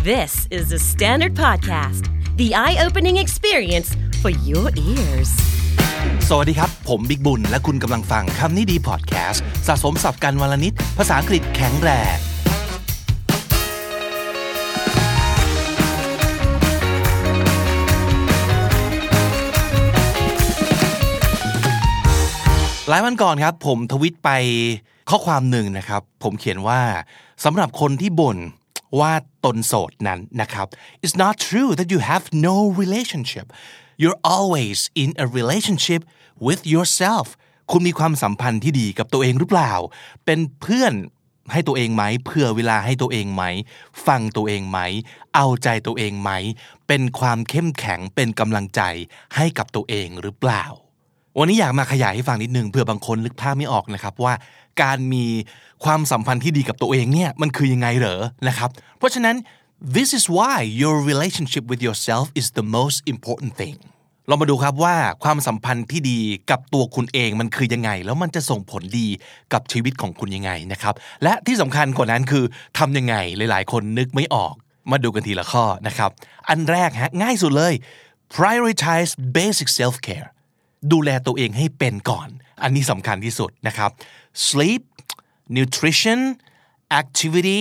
This is the Standard Podcast, the eye-opening experience for your ears. สวัสดีครับผมบิ๊กบุญและคุณกำลังฟังคำนี้ดีพอดแคสต์สะสมศัพท์กันวลนิดภาษาอังกฤษแข็งแรงหลายวันก่อนครับผมทวิตไปข้อความหนึ่งนะครับผมเขียนว่าสำหรับคนที่บ่นว่าตนโสดนั้นนะครับ It's not true that you have no relationship. You're always in a relationship with yourself. คุณมีความสัมพันธ์ที่ดีกับตัวเองหรือเปล่าเป็นเพื่อนให้ตัวเองไหมเผื่อเวลาให้ตัวเองไหมฟังตัวเองไหมเอาใจตัวเองไหมเป็นความเข้มแข็งเป็นกำลังใจให้กับตัวเองหรือเปล่าวันนี้อยากมาขยายให้ฟังนิดนึงเผื่อบางคนนึกภาพไม่ออกนะครับว่าการมีความสัมพันธ์ที่ดีกับตัวเองเนี่ยมันคือยังไงเหรอนะครับเพราะฉะนั้น this is why your relationship with yourself is the most important thing เรามาดูครับว่าความสัมพันธ์ที่ดีกับตัวคุณเองมันคือยังไงแล้วมันจะส่งผลดีกับชีวิตของคุณยังไงนะครับและที่สำคัญกว่านั้นคือทำยังไงหลายๆคนนึกไม่ออกมาดูกันทีละข้อนะครับอันแรกง่ายสุดเลย prioritize basic self careดูแลตัวเองให้เป็นก่อนอันนี้สำคัญที่สุดนะครับ sleep nutrition activity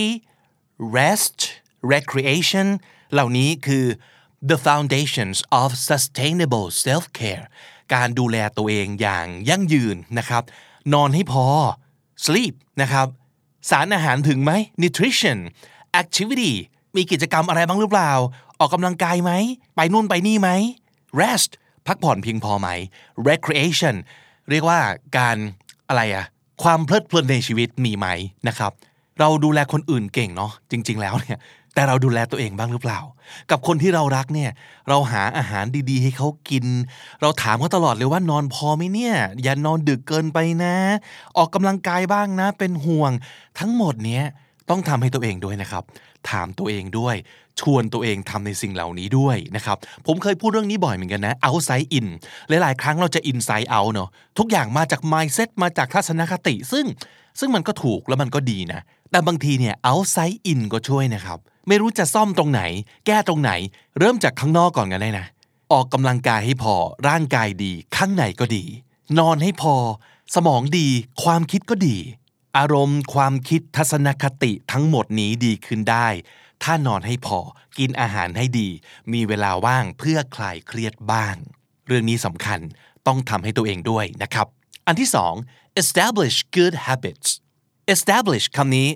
rest recreation เหล่านี้คือ the foundations of sustainable self-care การดูแลตัวเองอย่างยั่งยืนนะครับนอนให้พอ sleep นะครับสารอาหารถึงไหม nutrition activity มีกิจกรรมอะไรบ้างหรือเปล่าออกกำลังกายไหมไปนู่นไปนี่ไหม restพักผ่อนเพียงพอไหม recreation เรียกว่าการความเพลิดเพลินในชีวิตมีไหมนะครับเราดูแลคนอื่นเก่งเนาะจริงๆแล้วเนี่ยแต่เราดูแลตัวเองบ้างหรือเปล่ากับคนที่เรารักเนี่ยเราหาอาหารดีๆให้เขากินเราถามเขาตลอดเลยว่านอนพอไหมเนี่ยอย่านอนดึกเกินไปนะออกกำลังกายบ้างนะเป็นห่วงทั้งหมดเนี้ยต้องทำให้ตัวเองด้วยนะครับถามตัวเองด้วยชวนตัวเองทำในสิ่งเหล่านี้ด้วยนะครับผมเคยพูดเรื่องนี้บ่อยเหมือนกันนะ outside in หลายๆครั้งเราจะ inside out เนาะทุกอย่างมาจาก mindset มาจากทัศนคติซึ่งมันก็ถูกแล้วมันก็ดีนะแต่บางทีเนี่ย outside in ก็ช่วยนะครับไม่รู้จะซ่อมตรงไหนแก้ตรงไหนเริ่มจากข้างนอกก่อนกันได้นะออกกำลังกายให้พอร่างกายดีข้างในก็ดีนอนให้พอสมองดีความคิดก็ดีอารมณ์ความคิดทัศนคติทั้งหมดนี้ดีขึ้นได้ถ้านอนให้พอกินอาหารให้ดีมีเวลาว่างเพื่อคลายเครียดบ้างเรื่องนี้สำคัญต้องทำให้ตัวเองด้วยนะครับอันที่สอง establish good habits establish คำนี้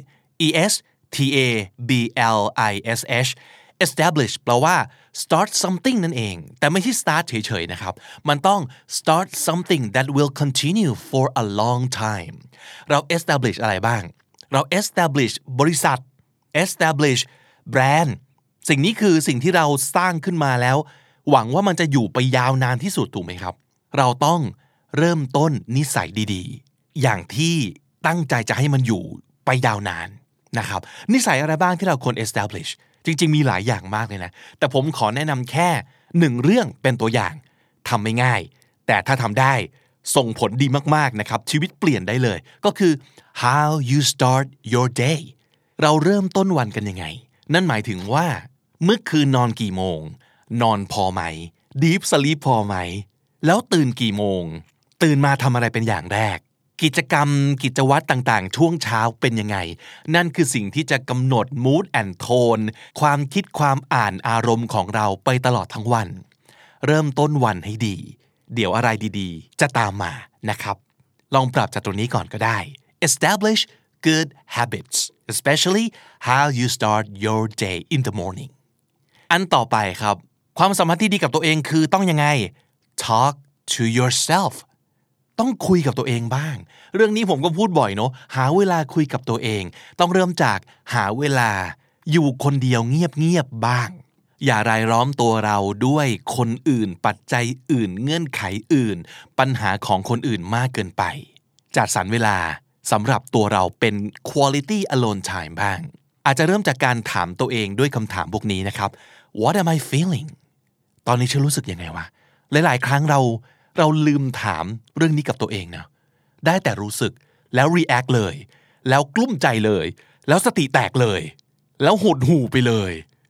establish establish แปลว่า start something นั่นเองแต่ไม่ใช่ start เฉยๆนะครับมันต้อง start something that will continue for a long time เรา establish อะไรบ้างเรา establish บริษัท establish แบรนด์สิ่งนี้คือสิ่งที่เราสร้างขึ้นมาแล้วหวังว่ามันจะอยู่ไปยาวนานที่สุดถูกไหมครับเราต้องเริ่มต้นนิสัยดีๆอย่างที่ตั้งใจจะให้มันอยู่ไปยาวนานนะครับนิสัยอะไรบ้างที่เราควร establish จริงๆมีหลายอย่างมากเลยนะแต่ผมขอแนะนำแค่1เรื่องเป็นตัวอย่างทำไม่ง่ายแต่ถ้าทำได้ส่งผลดีมากๆนะครับชีวิตเปลี่ยนได้เลยก็คือ how you start your day เราเริ่มต้นวันกันยังไงนั่นหมายถึงว่าเมื่อคืนนอนกี่โมงนอนพอไหม deep sleep พอไหมแล้วตื่นกี่โมงตื่นมาทำอะไรเป็นอย่างแรกกิจกรรมกิจวัตรต่างๆช่วงเช้าเป็นยังไงนั่นคือสิ่งที่จะกำหนด mood and tone ความคิดความอ่านอารมณ์ของเราไปตลอดทั้งวันเริ่มต้นวันให้ดีเดี๋ยวอะไรดีๆจะตามมานะครับลองปรับจากตรงนี้ก่อนก็ได้ establish good habits especially how you start your day in the morning อันต่อไปครับความสัมพันธ์ที่ดีกับตัวเองคือต้องยังไง talk to yourself ต้องคุยกับตัวเองบ้างเรื่องนี้ผมก็พูดบ่อยเนาะหาเวลาคุยกับตัวเองต้องเริ่มจากหาเวลาอยู่คนเดียวเงียบๆบ้างอย่ารายล้อมตัวเราด้วยคนอื่นปัจจัยอื่นเงื่อนไขอื่นปัญหาของคนอื่นมากเกินไปจัดสรรเวลาสำหรับตัวเราเป็น quality alone time บ้างอาจจะเริ่มจากการถามตัวเองด้วยคำถามพวกนี้นะครับ What am I feeling ตอนนี้ฉันรู้สึกยังไงวะหลายๆครั้งเราลืมถามเรื่องนี้กับตัวเองนะได้แต่รู้สึกแล้ว react เลยแล้วกลุ้มใจเลยแล้วสติแตกเลยแล้วหดหู่ไปเลย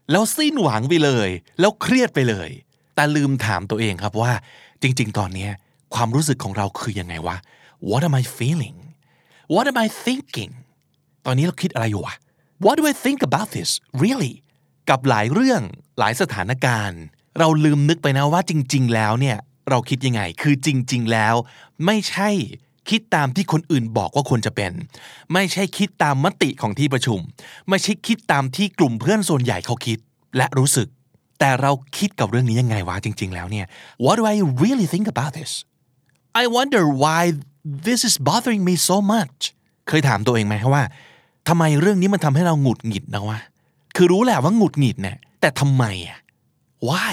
แล้วสิ้นหวังไปเลยแล้วเครียดไปเลยแต่ลืมถามตัวเองครับว่าจริงๆตอนนี้ความรู้สึกของเราคือยังไงวะ What am I feeling What am I thinking ตอนนี้เราคิดอะไรอยู่วะ What do I think about this really กับหลายเรื่องหลายสถานการณ์เราลืมนึกไปนะว่าจริงๆแล้วเนี่ยเราคิดยังไงคือจริงๆแล้วไม่ใช่คิดตามที่คนอื่นบอกว่าควรจะเป็นไม่ใช่คิดตามมติของที่ประชุมไม่ใช่คิดตามที่กลุ่มเพื่อนส่วนใหญ่เขาคิดและรู้สึกแต่เราคิดกับเรื่องนี้ยังไงวะจริงๆแล้วเนี่ย What do I really think about this I wonder why this is bothering me so much เคยถามตัวเองไหมว่าทำไมเรื่องนี้มันทำให้เราหงุดหงิดนะวะคือรู้แหละว่าหงุดหงิดเนี่ยแต่ทำไมอ่ะ Why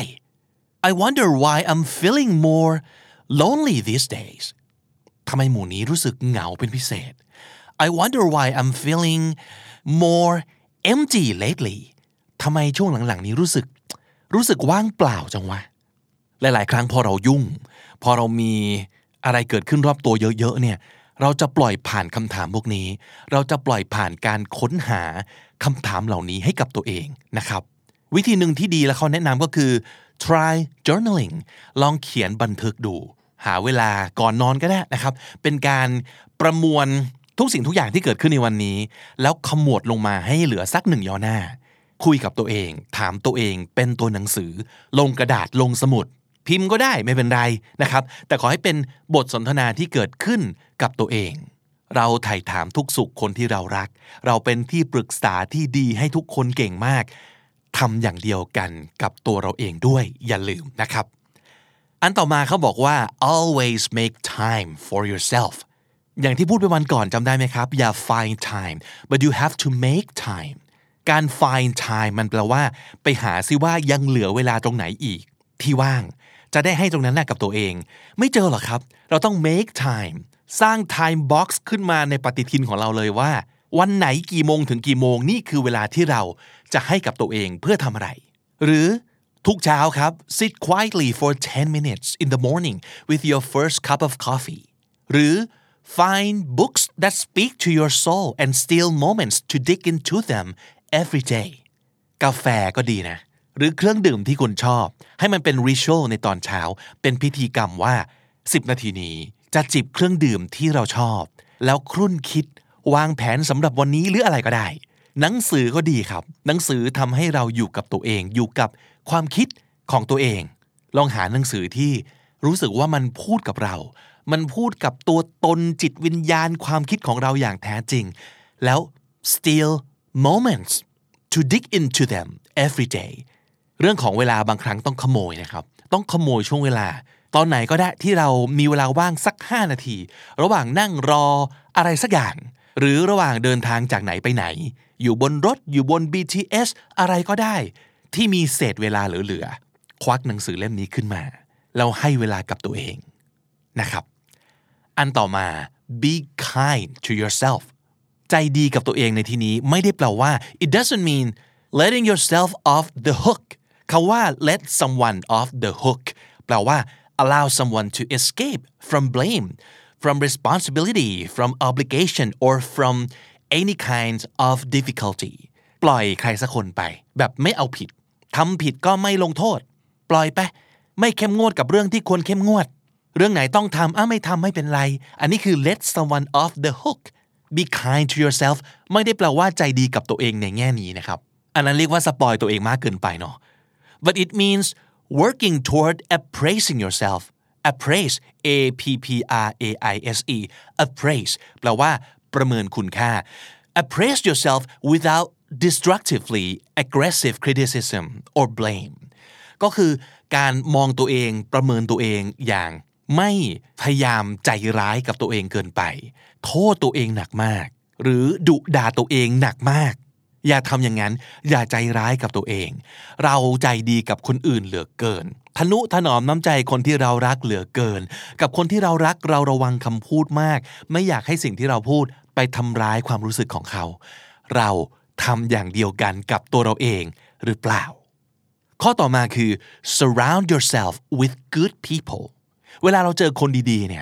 I wonder why I'm feeling more lonely these days ทำไมหมู่นี้รู้สึกเหงาเป็นพิเศษ I wonder why I'm feeling more empty lately ทำไมช่วงหลังๆนี้รู้สึกว่างเปล่าจังวะหลายๆครั้งพอเรายุ่งพอเรามีอะไรเกิดขึ้นรอบตัวเยอะๆเนี่ยเราจะปล่อยผ่านคำถามพวกนี้เราจะปล่อยผ่านการค้นหาคำถามเหล่านี้ให้กับตัวเองนะครับวิธีหนึ่งที่ดีและเขาแนะนำก็คือ try journaling ลองเขียนบันทึกดูหาเวลาก่อนนอนก็ได้นะครับเป็นการประมวลทุกสิ่งทุกอย่างที่เกิดขึ้นในวันนี้แล้วขมวดลงมาให้เหลือสักหนึ่งย่อหน้าคุยกับตัวเองถามตัวเองเป็นตัวหนังสือลงกระดาษลงสมุดพิมพ์ก็ได้ไม่เป็นไรนะครับแต่ขอให้เป็นบทสนทนาที่เกิดขึ้นกับตัวเองเราไถ่ถามทุกสุขคนที่เรารักเราเป็นที่ปรึกษาที่ดีให้ทุกคนเก่งมากทำอย่างเดียวกันกับตัวเราเองด้วยอย่าลืมนะครับอันต่อมาเขาบอกว่า always make time for yourself อย่างที่พูดไปวันก่อนจำได้ไหมครับอย่า find time but you have to make time การ find time มันแปลว่าไปหาซิว่ายังเหลือเวลาตรงไหนอีกที่ว่างจะได้ให้ตรงนั้นกับตัวเองไม่เจอหรอกครับเราต้อง make time สร้าง time box ขึ้นมาในปฏิทินของเราเลยว่าวันไหนกี่โมงถึงกี่โมงนี่คือเวลาที่เราจะให้กับตัวเองเพื่อทำอะไรหรือทุกเช้าครับ sit quietly for 10 minutes in the morning with your first cup of coffee หรือ find books that speak to your soul and steal moments to dig into them every day กาแฟก็ดีนะหรือเครื่องดื่มที่คุณชอบให้มันเป็นริชวลในตอนเช้าเป็นพิธีกรรมว่า10นาทีนี้จะจิบเครื่องดื่มที่เราชอบแล้วครุ่นคิดวางแผนสำหรับวันนี้หรืออะไรก็ได้หนังสือก็ดีครับหนังสือทำให้เราอยู่กับตัวเองอยู่กับความคิดของตัวเองลองหาหนังสือที่รู้สึกว่ามันพูดกับเรามันพูดกับตัวตนจิตวิญญาณความคิดของเราอย่างแท้จริงแล้ว steal moments to dig into them every day เรื่องของเวลาบางครั้งต้องขโมยนะครับต้องขโมยช่วงเวลาตอนไหนก็ได้ที่เรามีเวลาว่างสัก5นาทีระหว่างนั่งรออะไรสักอย่างหรือระหว่างเดินทางจากไหนไปไหนอยู่บนรถอยู่บน BTS อะไรก็ได้ที่มีเศษเวลาเหลือๆควักหนังสือเล่มนี้ขึ้นมาแล้วให้เวลากับตัวเองนะครับอันต่อมา be kind to yourself ใจดีกับตัวเองในที่นี้ไม่ได้แปลว่า it doesn't mean letting yourself off the hook คำว่า let someone off the hook แปลว่า allow someone to escape from blame from responsibility from obligation or from any kind of difficulty ปล่อยใครสักคนไปแบบไม่เอาผิดทำผิดก็ไม่ลงโทษปล่อยไปไม่เข้มงวดกับเรื่องที่ควรเข้มงวดเรื่องไหนต้องทำไม่ทำไม่เป็นไรอันนี้คือ let someone off the hook be kind to yourself ไม่ได้แปลว่าใจดีกับตัวเองในแง่นี้นะครับอันนั้นเรียกว่าสปอยตัวเองมากเกินไปเนาะ but it means working toward appraising yourself appraise A-P-P-R-A-I-S-E appraise แปลว่าประเมินคุณค่า appraise yourself without destructively aggressive criticism or blame ก็คือการมองตัวเองประเมินตัวเองอย่างไม่พยายามใจร้ายกับตัวเองเกินไปโทษตัวเองหนักมากหรือดุด่าตัวเองหนักมากอย่าทำอย่างนั้นอย่าใจร้ายกับตัวเองเราใจดีกับคนอื่นเหลือเกินทนุถนอมน้ำใจคนที่เรารักเหลือเกินกับคนที่เรารักเราระวังคำพูดมากไม่อยากให้สิ่งที่เราพูดไปทำร้ายความรู้สึกของเขาเราทำอย่างเดียวกันกับตัวเราเองหรือเปล่าข้อต่อมาคือ surround yourself with good people เวลาเราเจอคนดีๆเนี่ย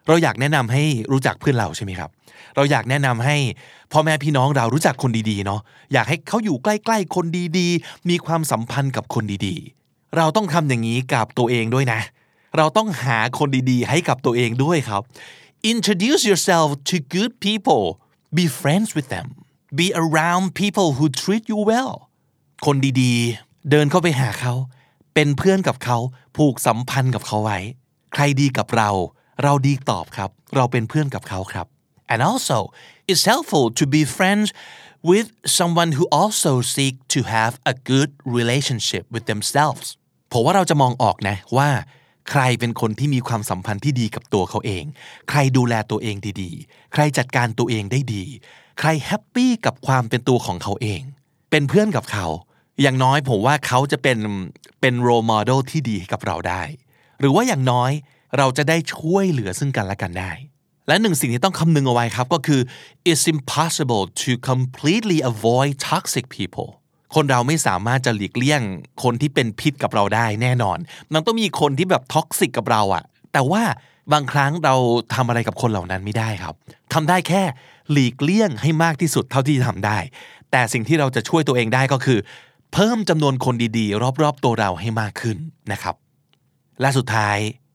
เราอยากแนะนำให้รู้จักเพื่อนเราใช่ไหมครับเราอยากแนะนำให้พ่อแม่พี่น้องเรารู้จักคนดีๆเนาะอยากให้เขาอยู่ใกล้ๆคนดีๆมีความสัมพันธ์กับคนดีๆเราต้องทำอย่างนี้กับตัวเองด้วยนะเราต้องหาคนดีๆให้กับตัวเองด้วยครับ Introduce yourself to good people be friends with them be around people who treat you well คนดีๆเดินเข้าไปหาเขาเป็นเพื่อนกับเขาผูกสัมพันธ์กับเขาไว้ใครดีกับเราเราดีตอบครับเราเป็นเพื่อนกับเขาครับ and also it's helpful to be friends with someone who also seek to have a good relationship with themselves ผมว่าเราจะมองออกนะว่าใครเป็นคนที่มีความสัมพันธ์ที่ดีกับตัวเขาเองใครดูแลตัวเองดีๆใครจัดการตัวเองได้ดีใครแฮปปี้กับความเป็นตัวของเขาเองเป็นเพื่อนกับเขาอย่างน้อยผมว่าเขาจะเป็น role model ที่ดีให้กับเราได้หรือว่าอย่างน้อยเราจะได้ช่วยเหลือซึ่งกันและกันได้และหนึ่งสิ่งที่ต้องคำนึงเอาไว้ครับก็คือ it's impossible to completely avoid toxic people คนเราไม่สามารถจะหลีกเลี่ยงคนที่เป็นพิษกับเราได้แน่นอนมันต้องมีคนที่แบบท็อกซิกกับเราอะแต่ว่าบางครั้งเราทำอะไรกับคนเหล่านั้นไม่ได้ครับทำได้แค่หลีกเลี่ยงให้มากที่สุดเท่าที่จะทำได้แต่สิ่งที่เราจะช่วยตัวเองได้ก็คือเพิ่มจำนวนคนดีๆรอบๆตัวเราให้มากขึ้นนะครับและสุดท้าย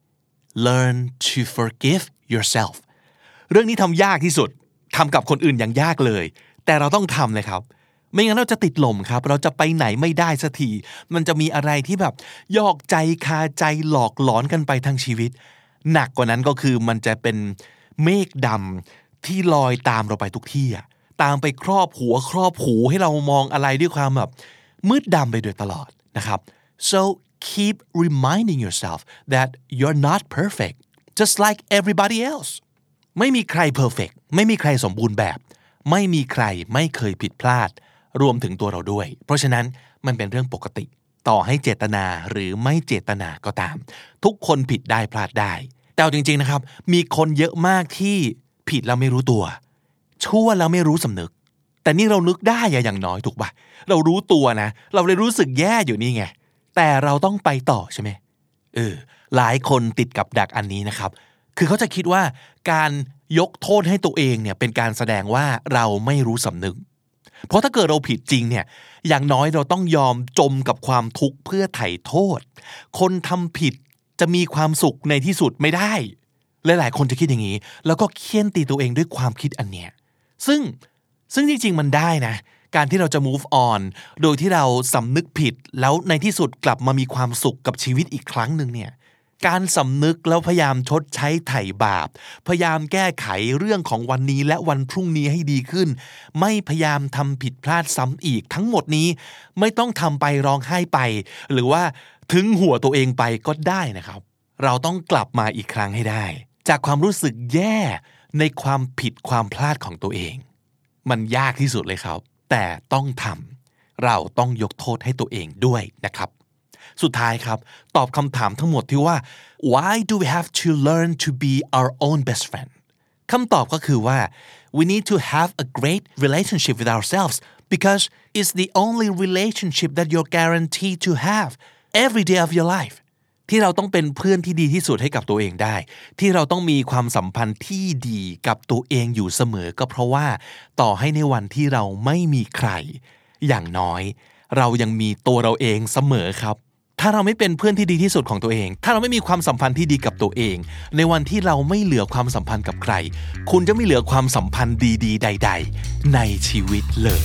learn to forgive yourself เรื่องนี้ทำยากที่สุดทำกับคนอื่นอย่างยากเลยแต่เราต้องทำเลยครับไม่งั้นเราจะติดลมครับเราจะไปไหนไม่ได้สักทีมันจะมีอะไรที่แบบยอกใจคาใจหลอกหลอนกันไปทั้งชีวิตหนักกว่านั้นก็คือมันจะเป็นเมฆดำที่ลอยตามเราไปทุกที่อะตามไปครอบหัวครอบหูให้เรามองอะไรด้วยความแบบมืดดำไปโดยตลอดนะครับ so keep reminding yourself that you're not perfect just like everybody else ไม่มีใคร perfect ไม่มีใครสมบูรณ์แบบไม่มีใครไม่เคยผิดพลาดรวมถึงตัวเราด้วยเพราะฉะนั้นมันเป็นเรื่องปกติต่อให้เจตนาหรือไม่เจตนาก็ตามทุกคนผิดได้พลาดได้แต่จริงๆนะครับมีคนเยอะมากที่ผิดแล้วไม่รู้ตัวชั่วแล้วไม่รู้สำนึกแต่นี่เรานึกได้อย่างน้อยถูกป่ะเรารู้ตัวนะเราเลยรู้สึกแย่อยู่นี่ไงแต่เราต้องไปต่อใช่ไหมหลายคนติดกับดักอันนี้นะครับคือเขาจะคิดว่าการยกโทษให้ตัวเองเนี่ยเป็นการแสดงว่าเราไม่รู้สำนึกเพราะถ้าเกิดเราผิดจริงเนี่ยอย่างน้อยเราต้องยอมจมกับความทุกข์เพื่อไถ่โทษคนทำผิดจะมีความสุขในที่สุดไม่ได้หลายๆคนจะคิดอย่างนี้แล้วก็เคี่ยนตีตัวเองด้วยความคิดอันเนี้ยซึ่งจริงๆมันได้นะการที่เราจะ move on โดยที่เราสำนึกผิดแล้วในที่สุดกลับมามีความสุขกับชีวิตอีกครั้งนึงเนี่ยการสำนึกแล้วพยายามชดใช้ไถ่บาปพยายามแก้ไขเรื่องของวันนี้และวันพรุ่งนี้ให้ดีขึ้นไม่พยายามทำผิดพลาดซ้ำอีกทั้งหมดนี้ไม่ต้องทำไปร้องไห้ไปหรือว่าถึงหัวตัวเองไปก็ได้นะครับเราต้องกลับมาอีกครั้งให้ได้จากความรู้สึกแย่ในความผิดความพลาดของตัวเองมันยากที่สุดเลยครับแต่ต้องทำเราต้องยกโทษให้ตัวเองด้วยนะครับสุดท้ายครับตอบคำถามทั้งหมดที่ว่า why do we have to learn to be our own best friend คำตอบก็คือว่า we need to have a great relationship with ourselves because it's the only relationship that you're guaranteed to have every day of your life ที่เราต้องเป็นเพื่อนที่ดีที่สุดให้กับตัวเองได้ที่เราต้องมีความสัมพันธ์ที่ดีกับตัวเองอยู่เสมอก็เพราะว่าต่อให้ในวันที่เราไม่มีใครอย่างน้อยเรายังมีตัวเราเองเสมอครับถ้าเราไม่เป็นเพื่อนที่ดีที่สุดของตัวเองถ้าเราไม่มีความสัมพันธ์ที่ดีกับตัวเองในวันที่เราไม่เหลือความสัมพันธ์กับใครคุณจะไม่เหลือความสัมพันธ์ดีๆใดๆในชีวิตเลย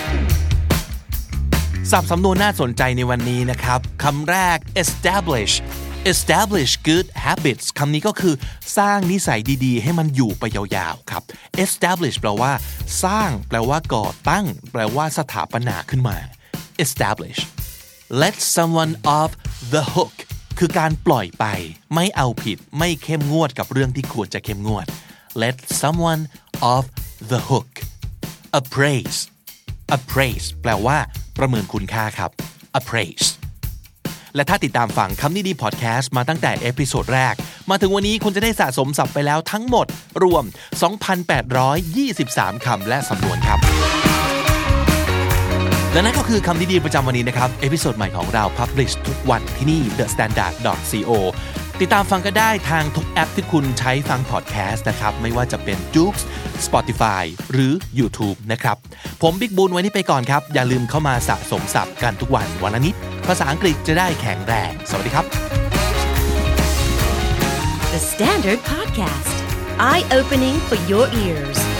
ศัพท์สำนวนน่าสนใจในวันนี้นะครับคำแรก establish good habits คำนี้ก็คือสร้างนิสัยดีๆให้มันอยู่ไปยาวๆครับ establish แปลว่าสร้างแปลว่าก่อตั้งแปลว่าสถาปนาขึ้นมา establish let someone off the hook คือการปล่อยไปไม่เอาผิดไม่เข้มงวดกับเรื่องที่ควรจะเข้มงวด let someone off the hook appraise แปลว่าประเมินคุณค่าครับ appraise และถ้าติดตามฟังคำนี้ดีพอดแคสต์มาตั้งแต่เอพิโซดแรกมาถึงวันนี้คุณจะได้สะสมศัพท์ไปแล้วทั้งหมดรวม 2,823 คำและสำนวนครับและนั่นก็คือคำดีๆประจำวันนี้นะครับเอพิโซดใหม่ของเรา publish ทุกวันที่นี่ thestandard.co ติดตามฟังก็ได้ทางทุกแอปที่คุณใช้ฟังพอดแคสต์นะครับไม่ว่าจะเป็น Joox Spotify หรือ YouTube นะครับผมบิ๊กบุญวันนี้ไปก่อนครับอย่าลืมเข้ามาสะสมศัพท์กันทุกวันละนิดภาษาอังกฤษจะได้แข็งแรงสวัสดีครับ The Standard Podcast Eye Opening for Your Ears